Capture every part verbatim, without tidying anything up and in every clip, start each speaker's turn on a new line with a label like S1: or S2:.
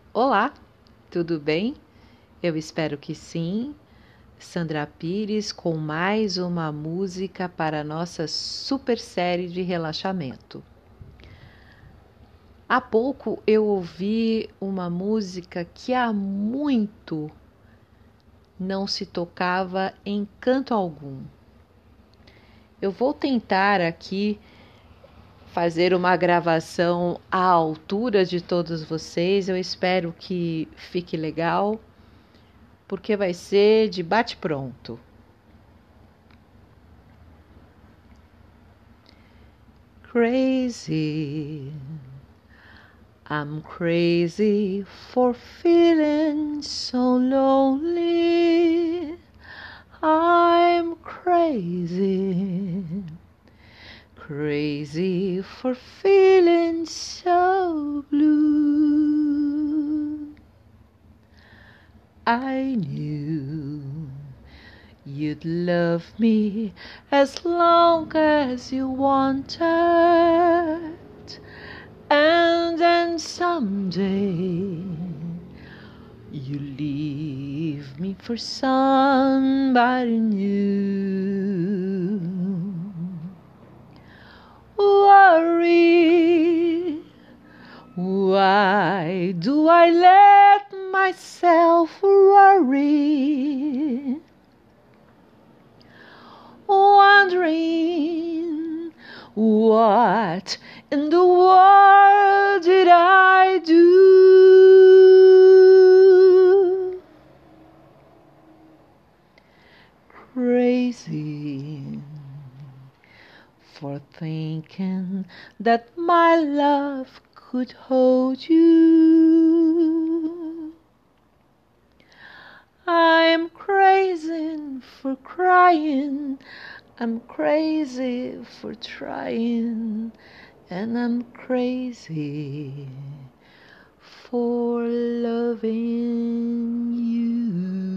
S1: Olá, tudo bem? Eu espero que sim. Sandra Pires com mais uma música para a nossa super série de relaxamento. Há pouco eu ouvi uma música que há muito não se tocava em canto algum. Eu vou tentar aqui fazer uma gravação à altura de todos vocês. Eu espero que fique legal, porque vai ser de bate-pronto. Crazy, I'm crazy for feeling so lonely. I'm crazy, crazy for feeling so blue. I knew you'd love me as long as you wanted, and then someday you leave me for somebody new. Worry, why do I let myself worry? Wondering what in the world did I do? Crazy for thinking that my love could hold you. I'm crazy for crying, I'm crazy for trying, and I'm crazy for loving you.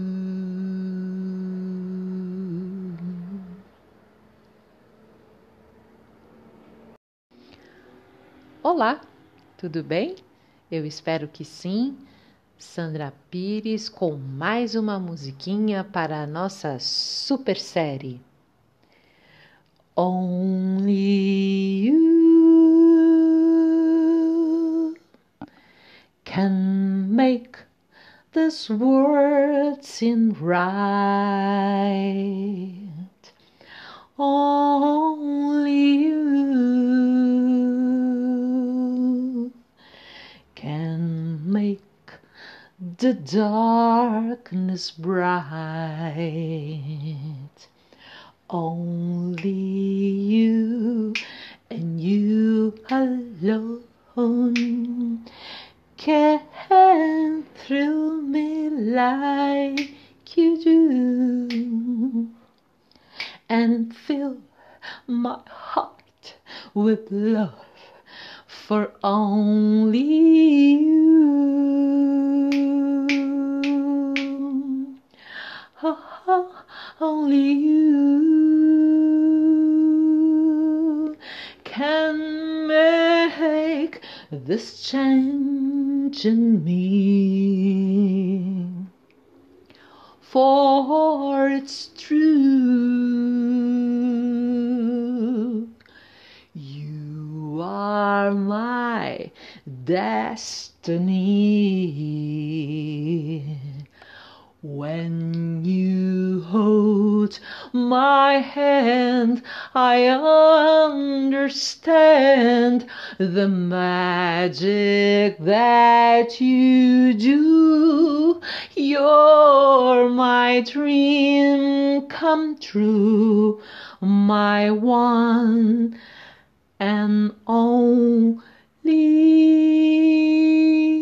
S1: Olá, tudo bem? Eu espero que sim. Sandra Pires com mais uma musiquinha para a nossa super série. Only you can make this world seem right. Only you can make the darkness bright. Only you and you alone can thrill me like you do, and fill my heart with love for only you. Oh, oh, only you can make this change in me, for it's true. You are my destiny. When you hold my hand, I understand the magic that you do. You're my dream come true, my one and only.